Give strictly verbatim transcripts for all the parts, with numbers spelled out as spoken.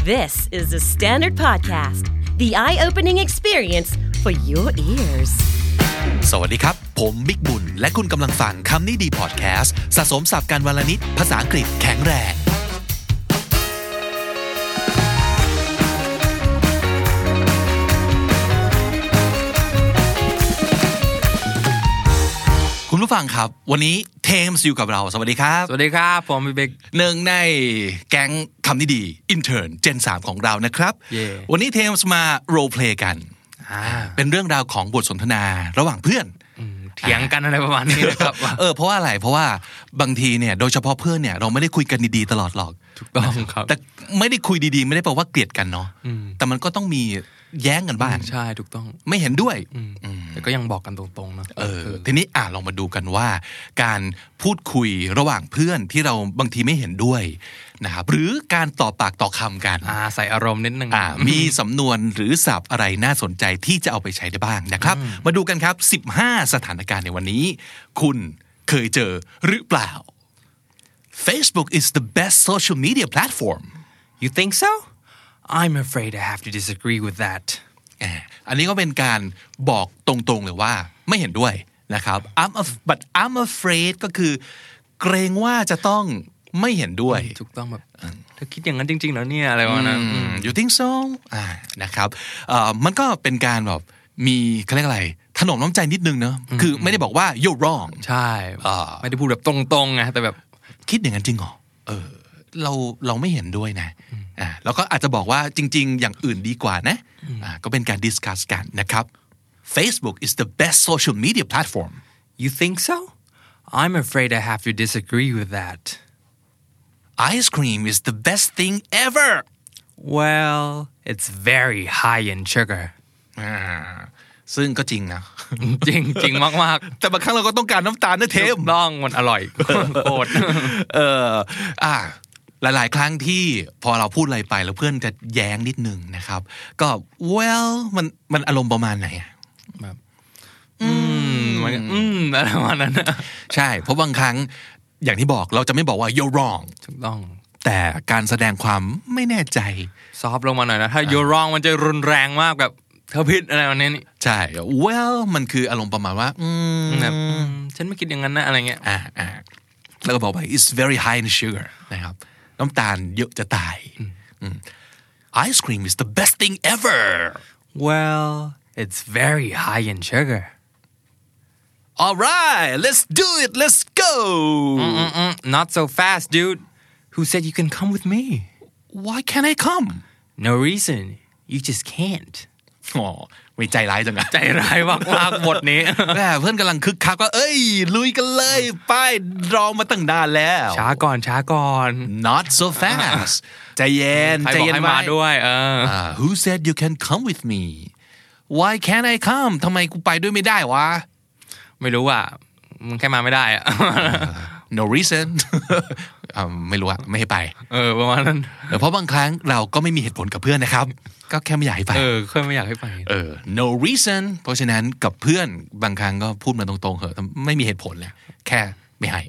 This is the Standard Podcast, the eye-opening experience for your ears. สวัสดีครับผมบิ๊กบุญและคุณกำลังฟังคำนี้ดีพอดแคสต์สะสมศัพท์กันวลนิดภาษาอังกฤษแข็งแรงคุณผู้ฟังครับวันนี้เทมส์อยู่กับเราสวัสดีครับสวัสดีครับผมบิ๊กบิ๊กหนึ่งในแก๊งคำนี้ดีอินเทิร์นเจนสามของเรานะครับ yeah. วันนี้เทมส์มาโรลเพลย์กันเป็นเรื่องราวของบทสนทนาระหว่างเพื่อนเถียงกันอะไรประมาณนี้นะครับเออเพราะว่าอะไรเพราะว่าบางทีเนี่ยโดยเฉพาะเพื่อนเนี่ยเราไม่ได้คุยกันดีๆตลอดหรอกถูกต้องครับแต่ไม่ได้คุยดีๆไม่ได้แปลว่าเกลียดกันเนาะแต่มันก็ต้องมีแย้งกันบ้างใช่ถูกต้องไม่เห็นด้วยแต่ก็ยังบอกกันตรงๆนะเออทีนี้อ่ะลองมาดูกันว่าการพูดคุยระหว่างเพื่อนที่เราบางทีไม่เห็นด้วยนะครับหรือการต่อปากต่อคำกันอ่าใส่อารมณ์นิดนึงอ่ามีสำนวนหรือศัพท์อะไรน่าสนใจที่จะเอาไปใช้ได้บ้างนะครับมาดูกันครับสิบห้าสถานการณ์ในวันนี้คุณเคยเจอหรือเปล่า Facebook is the best social media platform You think so? I'm afraid I have to disagree with that อันนี้ก็เป็นการบอกตรงๆเลยว่าไม่เห็นด้วยนะครับ I'm a, but I'm afraid ก็คือเกรงว่าจะต้องไม่เห็นด้วยถูกต้องแบบเธอคิดอย่างนั้นจริงๆแล้วเนี่ยอะไรวะนะ You think so อ่านะครับมันก็เป็นการแบบมีเขาเรียกอะไรถนอมน้ำใจนิดนึงเนอะคือไม่ได้บอกว่า you're wrong ใช่ไม่ได้พูดแบบตรงๆไงแต่แบบคิดอย่างนั้นจริงเหรอเออเราเราไม่เห็นด้วยนะอ่าแล้วก็อาจจะบอกว่าจริงๆอย่างอื่นดีกว่านะอ่าก็เป็นการดิสคัสกันนะครับ Facebook is the best social media platform You think so? I'm afraid I have to disagree with that Ice cream is the best thing ever Well it's very high in sugar อ่าซึ่งก็จริงนะจริงจริงมากๆแต่บางครั้งเราก็ต้องการน้ำตาลนะเทมต้องมันอร่อยโคตรเอออ่าหลายๆครั้งที่พอเราพูดอะไรไปแล้วเพื่อนจะแย้งนิดนึงนะครับก็ well มันมันอารมณ์ประมาณไหนแบบอืมมันอืมอะไรประมาณนั้นใช่เพราะบางครั้งอย่างที่บอกเราจะไม่บอกว่า you're wrong ถูกต้องแต่การแสดงความไม่แน่ใจซอฟลงมาหน่อยนะถ้า you're wrong มันจะรุนแรงมากแบบเธอผิดอะไรแบบนี้นี่ใช่ well มันคืออารมณ์ประมาณว่าอืมแบบฉันไม่คิดอย่างนั้นนะอะไรเงี้ยอ่าอ่าแล้วก็บอกว่า it's very high in sugar นะครับน้ำตาลเยอะจะตาย Ice cream is the best thing ever Well it's very high in sugar Alright let's do it let's go Mm-mm-mm. Not so fast dude Who said you can come with me Why can't I come No reason You just can't อ๋อไม่ใจร้ายจังอะใจร้ายมากๆบทนี้แม่เพื่อนกำลังคึกคักว่าเอ้ยลุยกันเลยไปรอมาตั้งนานแล้วช้าก่อนช้าก่อน Not so fast ใจเย็นใจเย็นมาด้วยเออ Who said you can come with me Why can't I come ทำไมกูไปด้วยไม่ได้วะไม่รู้อ่ะมึงแค่มาไม่ได้อ่ะ No reason ไม่รู้อ่ะไม่ให้ไปเออประมาณนั้นเพราะบางครั้งเราก็ไม่มีเหตุผลกับเพื่อนนะครับก็แค่ไม่อยากให้ไปเออแค่ไม่อยากให้ไปเออ no reason เพราะฉะนั้นกับเพื่อนบางครั้งก็พูดมาตรงๆเหอะไม่มีเหตุผลเลยแค่ไม่ให้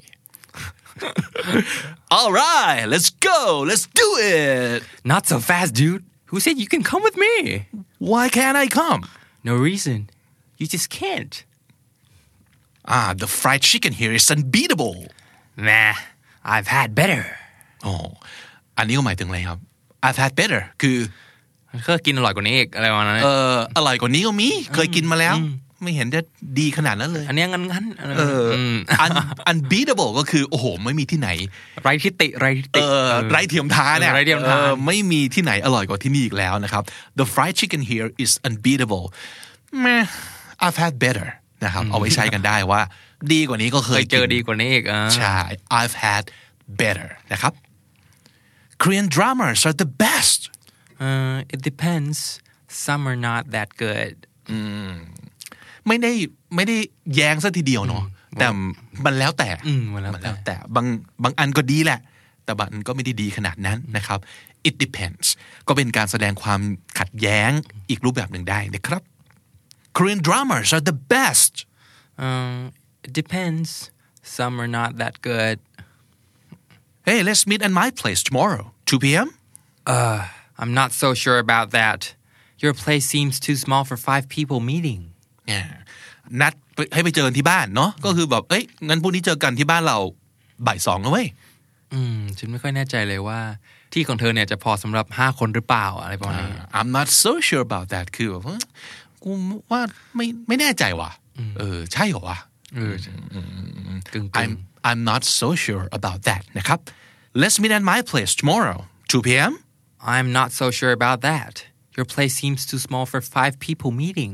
Alright let's go let's do it Not so fast dude Who said you can come with me Why can't I come No reason You just can't Ah the fried chicken here is unbeatable Nah I've had better อ๋ออันนี้ก็หมายถึงอะไรครับ I've had better คือเคยกินอร่อยกว่านี้อีกอะไรประมาณนั้นเอออร่อยกว่านี้ก็มีเคยกินมาแล้วไม่เห็นจะดีขนาดนั้นเลยอันนี้งั้นๆเออ unbeatable ก็คือโอ้โหไม่มีที่ไหนไร้ทิฏฐิไร้ทิฏฐิเออไร้เทียมทานเนี่ยไร้เทียมทานไม่มีที่ไหนอร่อยกว่าที่นี่อีกแล้วนะครับ The fried chicken here is unbeatable แม่ I've had better นะครับเอาไว้ใช้กันได้ว่าดีกว่านี้ก็เคยเจอดีกว่านี้อีกใช่ I've had better นะครับ Korean dramas are the best uh, it depends some are not that good อืมไม่ได้ไม่ได้แย้งซะทีเดียวเนาะแต่มันแล้วแต่มันแล้วแต่บางบางอันก็ดีแหละแต่บางอันก็ไม่ได้ดีขนาดนั้นนะครับ it depends ก็เป็นการแสดงความขัดแย้งอีกรูปแบบหนึ่งได้นะครับ Korean dramas are the best um, it depends some are not that good Hey let's meet at my place tomorrow two p.m. uh I'm not so sure about that your place seems too small for five people meeting นัดให้ไปเจอกันที่บ้านเนาะก็คือแบบเอ้ยงั้นพรุ่งนี้เจอกันที่บ้านเราบ่ายสองนะเว้ยอืมฉันไม่ค่อยแน่ใจเลยว่าที่ของเธอเนี่ยจะพอสำหรับห้าคนหรือเปล่าอะไรประมาณนี้ I'm not so sure about that คือแบบกูว่าไม่ไม่แน่ใจว่ะเออใช่เหรอวะเออ I'm I'm not so sure about that นะครับ Let's meet at my place tomorrow two p.m. I'm not so sure about that your place seems too small for five people meeting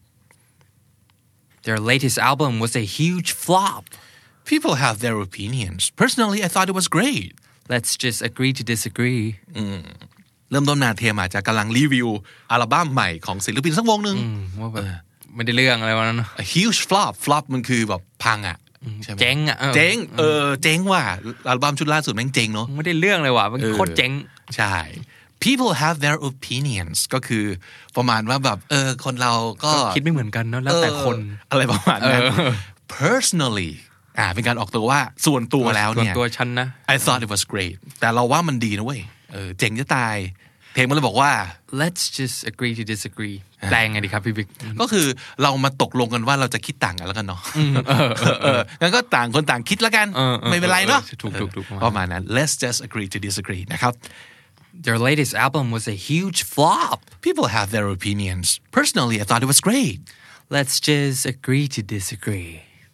their latest album was a huge flop people have their opinions personally I thought it was great let's just agree to disagree เริ่มต้นนาเทียมาจากกำลังรีวิวอัลบั้มใหม่ของศิลปินสักวงนึงว่าแบบไม่ได้เรื่องอะไรวะนั้น A huge flop flop มันคือแบบพังอ่ะเจ๊งอ่ะเจ๊งเออเจ๊งว่ะอัลบั้มชุดล่าสุดแม่งเจ๊งเนาะไม่ได้เรื่องเลยว่ะมันโคตรเจ๊งใช่ people have their opinions ก็คือประมาณว่าแบบเออคนเราก็คิดไม่เหมือนกันเนาะแล้วแต่คนอะไรประมาณนั้น personally อ่าเป็นการออกตัวว่าส่วนตัวแล้วเนี่ยส่วนตัวฉันนะ I thought it was great แต่เราว่ามันดีนะเว้ยเออเจ๋งจะตายเพลงมันเลยบอกว่า let's just agree to disagree แปลงไงดีครับพี่บิ๊กก็คือเรามาตกลงกันว่าเราจะคิดต่างกันแล้วกันเนาะงั้นก็ต่างคนต่างคิดแล้วกันไม่เป็นไรเนาะถูกๆประมาณนั้น let's just agree to disagree นะครับ their latest album was a huge flop people have their opinions personally I thought it was great let's just agree to disagree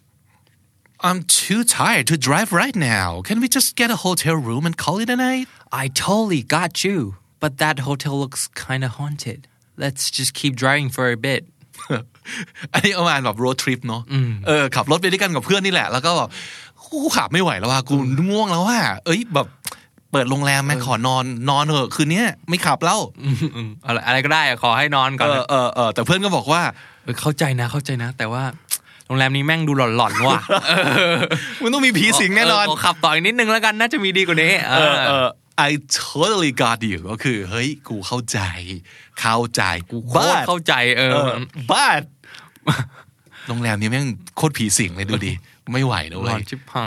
I'm too tired to drive right now can we just get a hotel room and call it a night I totally got you but that hotel looks kind of haunted let's just keep driving for a bit อันนี้ประมาณแบบ road trip เนาะเออขับรถไปด้วยกันกับเพื่อนนี่แหละแล้วก็แบบกูขับไม่ไหวแล้วว่ะกูง่วงแล้วว่ะเอ้ยแบบเปิดโรงแรมแม่ขอนอนนอนเถอะคืนนี้ไม่ขับแล้วอะไรอะไรก็ได้ขอให้นอนก่อนเออเออเออแต่เพื่อนก็บอกว่าเข้าใจนะเข้าใจนะแต่ว่าโรงแรมนี้แม่งดูหลอนๆว่ะมันต้องมีผีสิงแน่นอนขับต่ออีกนิดนึงแล้วกันน่าจะมีดีกว่านี้เออเออI totally got you ก็คือเฮ้ยกูเข้าใจเข้าใจกูโคตรเข้าใจเออ but โรงแรมนี้แม่งโคตรผีสิงเลยดูดิไม่ไหวนะเว้ยหลอนชิบหาย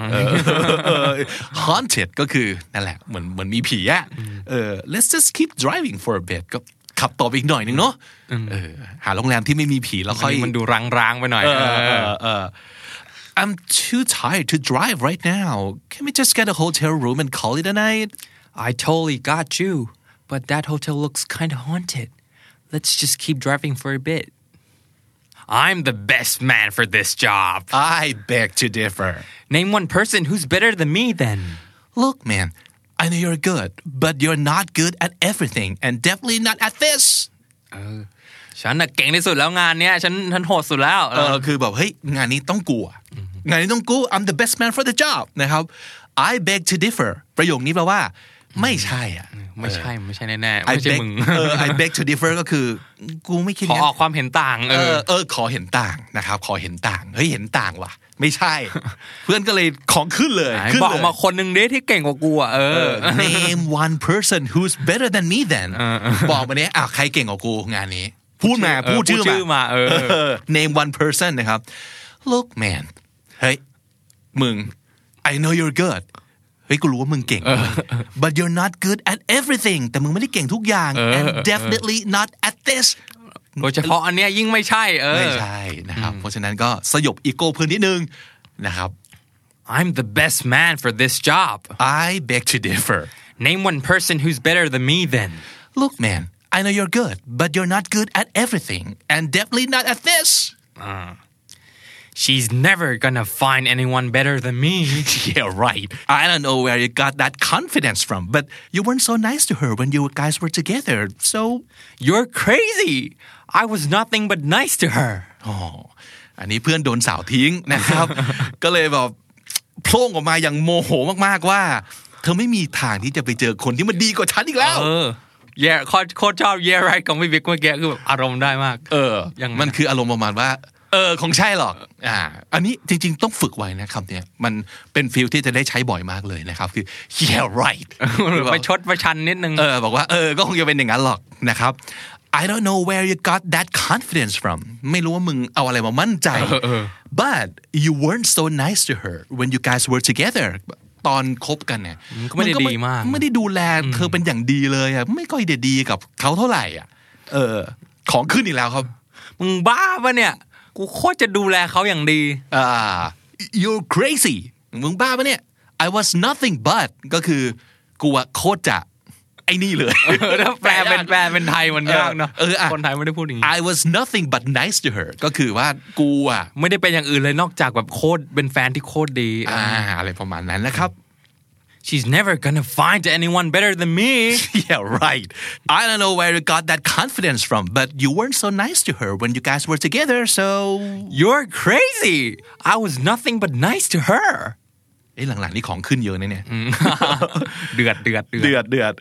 haunted ก็คือนั่นแหละเหมือนเหมือนมีผีอ่ะเออ let's just keep driving for a bit ก็ขับต่อไปอีกหน่อยนึงเนาะเออหาโรงแรมที่ไม่มีผีแล้วค่อยมันดูร้างๆไปหน่อยเออเออ I'm too tired to drive right now can we just get a hotel room and call it a night I totally got you but that hotel looks kind of haunted let's just keep driving for a bit I'm the best man for this job I beg to differ name one person who's better than me then look man I know you're good but you're not good at everything and definitely not at this เออฉันน่ะเก่งที่สุดแล้วงานเนี้ยฉันฉันโหดสุดแล้วเออคือแบบเฮ้ยงานนี้ต้องกูอ่ะงานนี้ต้องกู I'm the best man for the job นะครับ I beg to differ ประโยคนี้แปลว่าไม่ใช่อ่ะไม่ใช่ไม่ใช่แน่ๆไม่ใช่มึงเออ I beg to differ ก็คือกูไม่คิดขอออกความเห็นต่างเออเออขอเห็นต่างนะครับขอเห็นต่างเฮ้ยเห็นต่างว่ะไม่ใช่เพื่อนก็เลยของขึ้นเลยบอกมาคนนึงเด้ที่เก่งกว่ากูอ่ะเออ name one person who's better than me then บอกมาเนี้ยอ่ะใครเก่งกว่ากูงานนี้พูดมาพูดชื่อมาเออ name one person นะครับ look man เฮ้ยมึง I know you're good เฮ้ยกูรู้ว่ามึงเก่ง but you're not good at everything แต่มึงไม่ได้เก่งทุกอย่าง and definitely not at this โดยเฉพาะอันเนี้ยยิ่งไม่ใช่เออไม่ใช่นะครับเพราะฉะนั้นก็สยบอีโก้เพื่อนนิดนึงนะครับ I'm the best man for this job I beg to differ name one person who's better than me then look man I know you're good but you're not good at everything and definitely not at this uh, she's never gonna find anyone better than me yeah right I don't know where you got that confidence from but you weren't so nice to her when you guys were together so you're crazy I was nothing but nice to her อ๋ออันนี้เพื่อนโดนสาวทิ้งนะครับ ก็เลยแบบโพล่งออกมาอย่างโมโหมากๆว่าเธอไม่มีทางที่จะไปเจอคนที่มันดีกว่าฉันอีกแล้วเออ yeah โคตรชอบ yeah right ของพี่บิ๊กเมื่อกี้คือแบบอารมณ์ได้มากเออมันคืออารมณ์ประมาณว่าเออคงใช่หรอกอ่าอันนี้จริงๆต้องฝึกไว้นะคำเนี้ยมันเป็นฟีลที่จะได้ใช้บ่อยมากเลยนะครับคือ yeah right ไปชดประชันนิดนึงเออบอกว่าเออก็คงจะเป็นอย่างนั้นหรอกนะครับ I don't know where you got that confidence from ไม่รู้ว่ามึงเอาอะไรมามั่นใจ but you weren't so nice to her when you guys were together ตอนคบกันเนี่ยก็ไม่ได้ดีมากไม่ได้ดูแลเธอเป็นอย่างดีเลยอ่ะไม่ค่อยได้ดีกับเขาเท่าไหร่อ่ะเออของขึ้นอีกแล้วครับมึงบ้าปะเนี่ยกูโคตรจะดูแลเขาอย่างดีอ่า you're crazy มึงบ้าปะเนี่ย I was nothing but ก็คือกูอะโคตรจะไอ้นี่เลยถ้าแปลเป็นแปลเป็นไทยมันยากเนาะคนไทยไม่ได้พูดอย่างนี้ I was nothing but nice to her ก็คือว่ากูอะไม่ได้เป็นอย่างอื่นเลยนอกจากแบบโคตรเป็นแฟนที่โคตรดีอ่าอะไรประมาณนั้นนะครับ She's never gonna find anyone better than me Yeah right I don't know where you got that confidence from but you weren't so nice to her when you guys were together so You're crazy I was nothing but nice to her เอ้ยหลังๆนี่ของขึ้นเยอะนะเนี่ยเดือดเดือดเดือดเดือด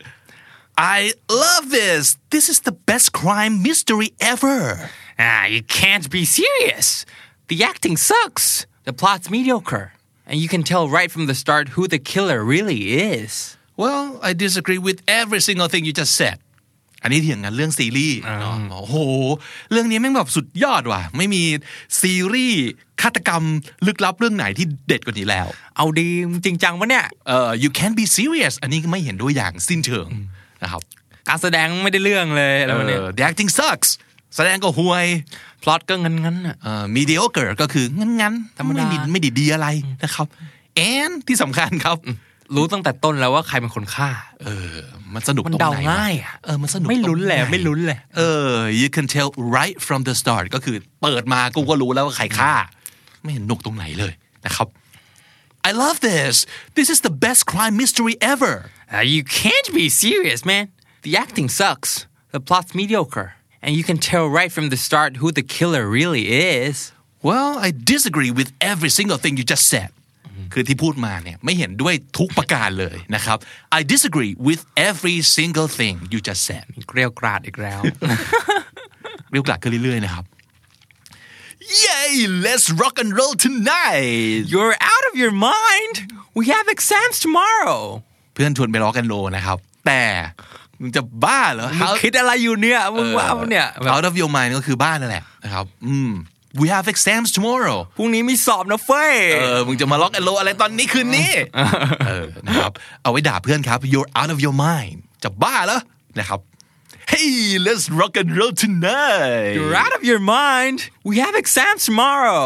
I love this this is the best crime mystery ever Ah you can't be serious the acting sucks the plot's mediocre and you can tell right from the start who the killer really is Well I disagree with every single thing you just said อันนี้เถียงกันเรื่องซีรีส์โอ้โหเรื่องนี้แม่งแบบสุดยอดว่ะไม่มีซีรีส์ฆาตกรรมลึกลับเรื่องไหนที่เด็ดกว่านี้แล้วเอาดีจริงจังวะเนี่ยเอ่อ you can't be serious อันนี้ไม่เห็นด้วยอย่างสิ้นเชิงนะครับการแสดงไม่ได้เรื่องเลยอะไรเนี่ย the acting sucks แสดงก็ห่วยพล็อตก็งั้นๆอ่ะเอ่อ mediocre ก็คืองั้นๆธรรมดาไม่ไม่ได้ดีอะไรนะครับ and ที่สำคัญครับรู้ตั้งแต่ต้นแล้วว่าใครเป็นคนฆ่าเออมันสนุกตรงไหนมันเดาง่ายอ่ะเออมันสนุกไม่ลุ้นเลยไม่ลุ้นเลยเออ you can tell right from the start ก็คือเปิดมากูก็รู้แล้วว่าใครฆ่าไม่เห็นหนุกตรงไหนเลยนะครับ I love this this is the best crime mystery ever uh, you can't be serious man the acting sucks the plot's mediocre and you can tell right from the start who the killer really is well I disagree with every single thing you just saidคือที่พูดมาเนี่ยไม่เห็นด้วยทุกประการเลยนะครับ I disagree with every single thing you just said เกลียวกราดอีกแล้วเกลียวกราดขึ้นเรื่อยๆนะครับ Yay let's rock and roll tonight You're out of your mind we have exams tomorrow เพื่อนชวนไปร็อกแอนด์โรลนะครับแต่มึงจะบ้าเหรอมึงคิดอะไรอยู่เนี่ยมึงว่าเนี่ย out of your mind ก็คือบ้านั่นแหละนะครับอืมWe have exams tomorrow พรุ่งนี้มีสอบนะเฟ้ยเออมึงจะมาล็อกแอนโลอะไรตอนนี้คืนนี้เออนะครับเอาไว้ด่าเพื่อนครับ You're out of your mind จะบ้าเหรอนะครับ Hey let's rock and roll tonight You're out of your mind We have exams tomorrow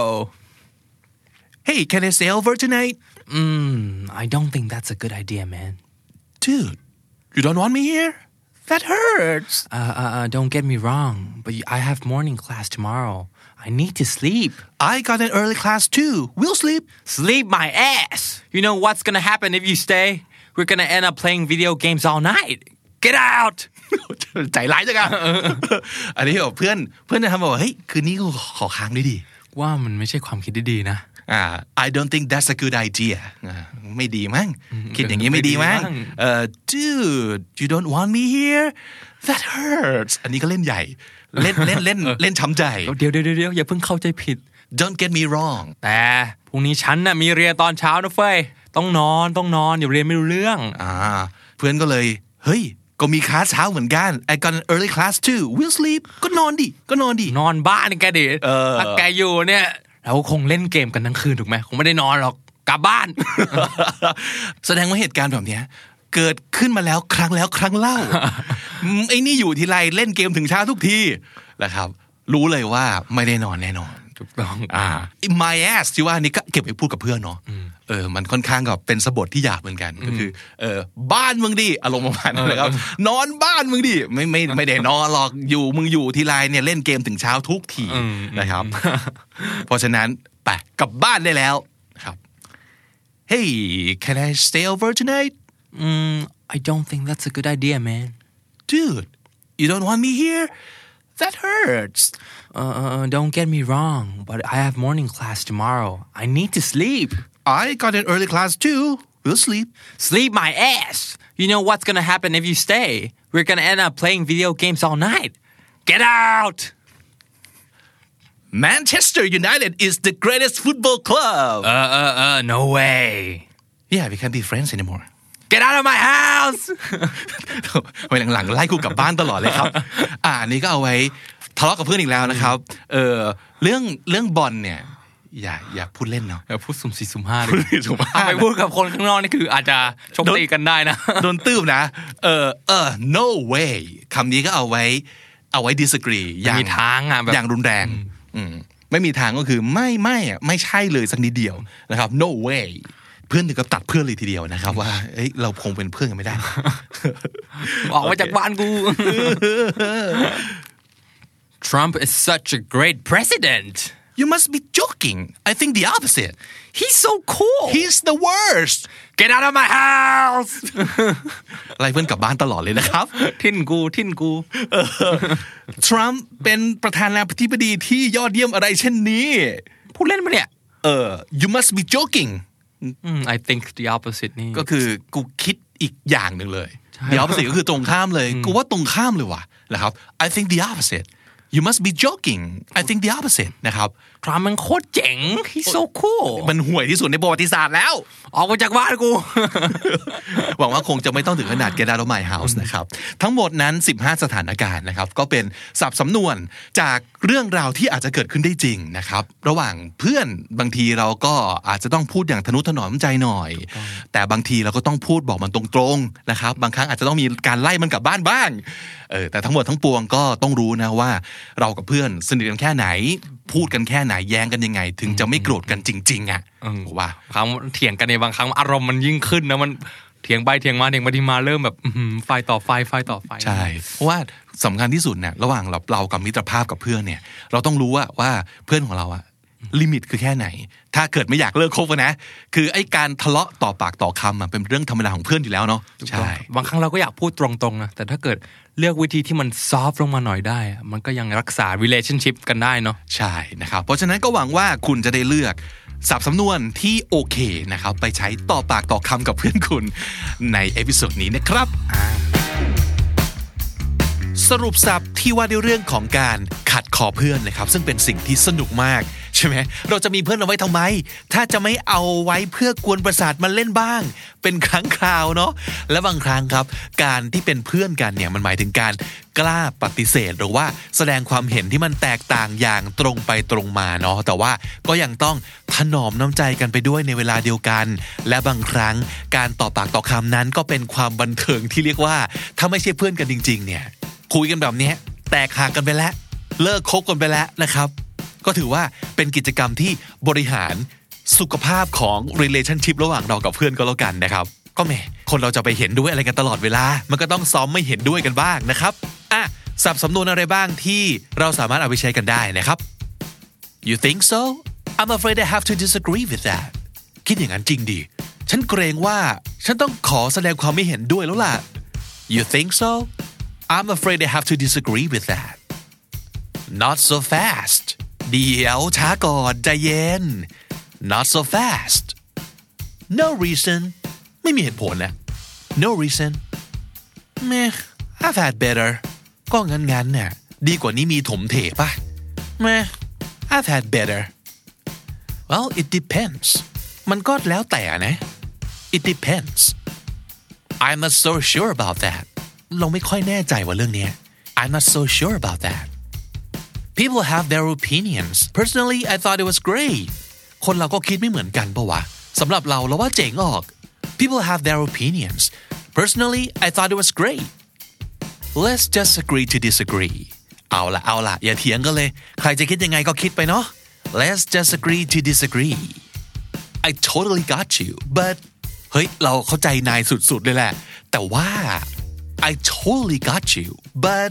Hey can I stay over tonight Mm I don't think that's a good idea man Dude you don't want me here That hurts uh, uh, uh, Don't get me wrong But I have morning class tomorrow I need to sleep. I got an early class too. We'll sleep. Sleep my ass. You know what's gonna happen if you stay? We're gonna end up playing video games all night. Get out. ใจร้ายจังอะอันนี้เพื่อนเพื่อนจะทำบอกว่าเฮ้ยคืนนี้กูขอค้างด้วยดิว่ามันไม่ใช่ความคิดที่ดีนะอ่า I don't think that's a good idea ไม่ดีมั้งคิดอย่างนี้ไม่ดีมั้งเอ่อ Dude you don't want me here that hurts อันนี้ก็เล่นใหญ่เล่นเล่นเล่นเล่นช้ำใจเดี๋ยวเดี๋ยวเดี๋ยวอย่าเพิ่งเข้าใจผิด Don't get me wrong แต่พรุ่งนี้ฉันน่ะมีเรียนตอนเช้านะเฟ้ยต้องนอนต้องนอนอย่าเรียนไม่รู้เรื่องอ่าเพื่อนก็เลยเฮ้ยก็มีคลาสเช้าเหมือนกัน I got an early class too we'll sleep ก็นอนดิก็นอนดินอนบ้านแกดิถ้าแกอยู่เนี่ยเราคงเล่นเกมกันทั้งคืนถูกไหมคงไม่ได้นอนหรอกกลับบ้านแสดงว่าเหตุการณ์แบบนี้เกิดขึ้นมาแล้วครั้งแล้วครั้งเล่า ไอ้นี่อยู่ทีไรเล่นเกมถึงเช้าทุกทีนะครับรู้เลยว่าไม่ได้นอนแน่นอนถูกต้องอ่า my ass ที่ว่านี่ก็เก็บไว้พูดกับเพื่อนเนาะเออมันค่อนข้างกับเป็นสะบทที่หยาบเหมือนกันก็คือเออบ้านมึงดิอารมณ์ประมาณนั้นนะครับนอนบ้านมึงดิไม่ไม่ไม่ได้นอนหรอกอยู่มึงอยู่ทีไรเนี่ยเล่นเกมถึงเช้าทุกทีนะครับเพราะฉะนั้นไปกลับบ้านได้แล้วครับ Hey can I stay over tonight Mm, I don't think that's a good idea, man. Dude, you don't want me here? That hurts. Uh, don't get me wrong, but I have morning class tomorrow. I need to sleep. I got an early class too. We'll sleep. Sleep my ass. You know what's gonna happen if you stay? We're gonna end up playing video games all night. Get out! Manchester United is the greatest football club. Uh, uh, uh, no way. Yeah, we can't be friends anymore.Get out of my house ไว้หลังๆไล่กูกลับบ้านตลอดเลยครับอ่านี่ก็เอาไว้ทะเลาะกับเพื่อนอีกแล้วนะครับเออเรื่องเรื่องบอลเนี่ยอย่าอย่าพูดเล่นเนาะอย่าพูดสุ่มสี่สุ่มห้าเลยสุ่มห้าไปพูดกับคนข้างนอกนี่คืออาจจะชกตีกันได้นะโดนตื้มนะเออเออ no way คำนี้ก็เอาไว้เอาไว้ disagree อย่างมีทางอ่ะแบบอย่างรุนแรงอืมไม่มีทางก็คือไม่ไม่อ่ะไม่ใช่เลยสักนิดเดียวนะครับ no way เพื่อนถึงกับตัดเพื่อนเลยทีเดียวนะครับว่าเอ้ยเราคงเป็นเพื่อนกันไม่ได้ออกมาจากบ้านกู Trump is such a great president You must be joking I think the opposite He's so cool He's the worst Get out of my house ไล่เพื่อนกลับบ้านตลอดเลยนะครับทิ่นกูทิ่นกูทรัมป์เป็นประธานาธิบดีที่ยอดเยี่ยมอะไรเช่นนี้พูดเล่นปะเนี่ยเออ You must be joking I think the opposite นี่ก็คือกูคิดอีกอย่างหนึ่งเลย The opposite ก็คือตรงข้ามเลยกูว่าตรงข้ามเลยว่ะนะครับ I think the opposite You must be joking I think the opposite นะครับทรัมป์มันโคตรเจ๋ง He's so cool มันห่วยที่สุดในประวัติศาสตร์แล้วออกมาจากบ้านกูหวังว่าคงจะไม่ต้องถึงขนาด Get out of my house นะครับทั้งหมดนั้นสิบห้าสถานการณ์นะครับก็เป็นศัพท์สำนวนจากเรื่องราวที่อาจจะเกิดขึ้นได้จริงนะครับระหว่างเพื่อนบางทีเราก็อาจจะต้องพูดอย่างทนุถนอมใจหน่อยแต่บางทีเราก็ต้องพูดบอกมันตรงๆนะครับบางครั้งอาจจะต้องมีการไล่มันกลับบ้านบ้างเออแต่ทั้งหมดทั้งปวงก็ต้องรู้นะว่าเรากับเพื่อนสนิทกันแค่ไหนพูดกันแค่ไหนแย้งกันยังไงถึงจะไม่โกรธกันจริงๆอ่ะว่าครั้งเถียงกันในบางครั้งอารมณ์มันยิ่งขึ้นนะมันเถียงไปเถียงมาเถียงไปที่มาเริ่มแบบไฟต่อไฟไฟต่อไฟใช่เพราะว่าสำคัญที่สุดเนี่ยระหว่างเราเรากับมิตรภาพกับเพื่อนเนี่ยเราต้องรู้ว่าว่าเพื่อนของเราอะลิมิตคือแค่ไหนถ้าเกิดไม่อยากเลิกคบกันนะคือไอ้การทะเลาะต่อปากต่อคำอะเป็นเรื่องธรรมดาของเพื่อนอยู่แล้วเนาะใช่บางครั้งเราก็อยากพูดตรงๆนะแต่ถ้าเกิดเลือกวิธีที่มันซอฟต์ลงมาหน่อยได้มันก็ยังรักษา relationship กันได้เนาะใช่นะครับเพราะฉะนั้นก็หวังว่าคุณจะได้เลือกศัพท์สำนวนที่โอเคนะครับไปใช้ต่อปากต่อคำกับเพื่อนคุณในเอพิโซดนี้นะครับสรุปศัพท์ที่ว่าด้วยเรื่องของการขัดคอเพื่อนนะครับซึ่งเป็นสิ่งที่สนุกมากใช่ไหมเราจะมีเพื่อนเอาไว้ทำไมถ้าจะไม่เอาไว้เพื่อกวนประสาทมันเล่นบ้างเป็นครั้งคราวเนาะและบางครั้งครับการที่เป็นเพื่อนกันเนี่ยมันหมายถึงการกล้าปฏิเสธหรือว่าแสดงความเห็นที่มันแตกต่างอย่างตรงไปตรงมาเนาะแต่ว่าก็ยังต้องถนอมน้ำใจกันไปด้วยในเวลาเดียวกันและบางครั้งการต่อปากต่อคำนั้นก็เป็นความบันเทิงที่เรียกว่าถ้าไม่ใช่เพื่อนกันจริงๆเนี่ยคุยกันแบบนี้แตกหักกันไปแล้วเลิกคบกันไปแล้วนะครับก็ถือว่าเป็นกิจกรรมที่บริหารสุขภาพของ relationship ระหว่างเรากับเพื่อนก็แล้วกันนะครับก็แหมคนเราจะไปเห็นด้วยอะไรกันตลอดเวลามันก็ต้องซ้อมไม่เห็นด้วยกันบ้างนะครับอ่ะศัพท์สำนวนอะไรบ้างที่เราสามารถเอาไปใช้กันได้นะครับ You think so? I'm afraid I have to disagree with that คิดอย่างนั้นจริงดิฉันเกรงว่าฉันต้องขอแสดงความไม่เห็นด้วยแล้วล่ะ You think so? I'm afraid I have to disagree with that Not so fast เดี๋ยวช้าก่อนใจเย็น Not so fast No reason ไม่มีเหตุผลนะ No reason แม่ I've had better ก็งั้นๆเนี่ยดีกว่านี้มีถมเถป่ะแม่ I've had better Well it depends มันก็แล้วแต่นะ It depends I'm not so sure about that เราไม่ค่อยแน่ใจว่าเรื่องนี้ I'm not so sure about that People have their opinions Personally I thought it was great คนเราก็คิดไม่เหมือนกันปะวะสำหรับเราเราว่าเจ๋งออก People have their opinions Personally I thought it was great Let's just agree to disagree เอาละเอาละอย่าเถียงกันเลยใครจะคิดยังไงก็คิดไปเนาะ Let's just agree to disagree I totally got you but เฮ้ยเราเข้าใจนายสุดๆเลยแหละแต่ว่า I totally got you but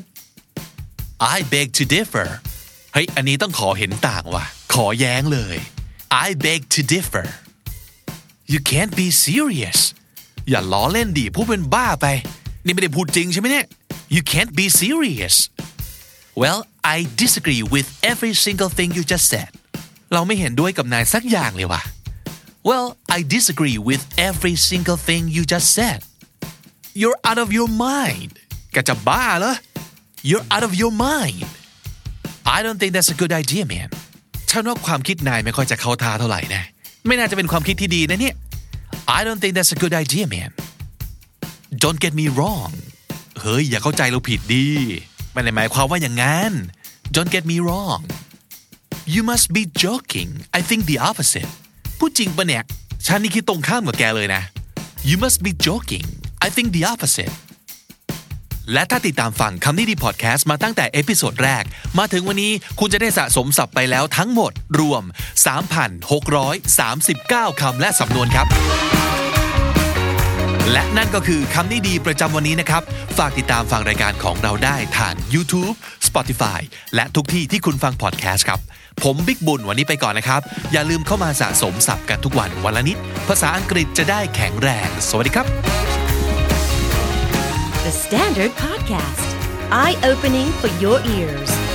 I beg to differ เฮ้ยอันนี้ต้องขอเห็นต่างว่ะขอแย้งเลย I beg to differ You can't be serious อย่าล้อเล่นดิพูดเป็นบ้าไปนี่ไม่ได้พูดจริงใช่ไหมเนี่ย You can't be serious Well I disagree with every single thing you just said เราไม่เห็นด้วยกับนายสักอย่างเลยว่ะ Well I disagree with every single thing you just said You're out of your mind แกจะบ้าเหรอYou're out of your mind I don't think that's a good idea man ฉันว่าความคิดนายไม่ค่อยจะเข้าท่าเท่าไหร่นะไม่น่าจะเป็นความคิดที่ดีนะเนี่ย I don't think that's a good idea man Don't get me wrong เฮ้ยอย่าเข้าใจเราผิดดิไม่ได้หมายความว่าอย่างนั้น Don't get me wrong You must be joking I think the opposite พูดจริงปะเนี่ยฉันนี่คิดตรงข้ามกับแกเลยนะ You must be joking I think the opposite และถ้าติดตามฟังคำนี้ดีพอดแคสต์มาตั้งแต่เอพิโซดแรกมาถึงวันนี้คุณจะได้สะสมศัพท์ไปแล้วทั้งหมดรวม สามพันหกร้อยสามสิบเก้า คำและสำนวนครับและนั่นก็คือคำนี้ดีประจำวันนี้นะครับฝากติดตามฟังรายการของเราได้ทาง YouTube Spotify และทุกที่ที่คุณฟังพอดแคสต์ครับผมบิ๊กบุญวันนี้ไปก่อนนะครับอย่าลืมเข้ามาสะสมศัพท์กันทุกวันวันละนิดภาษาอังกฤษจะได้แข็งแรงสวัสดีครับ The Standard Podcast Eye Opening for Your Ears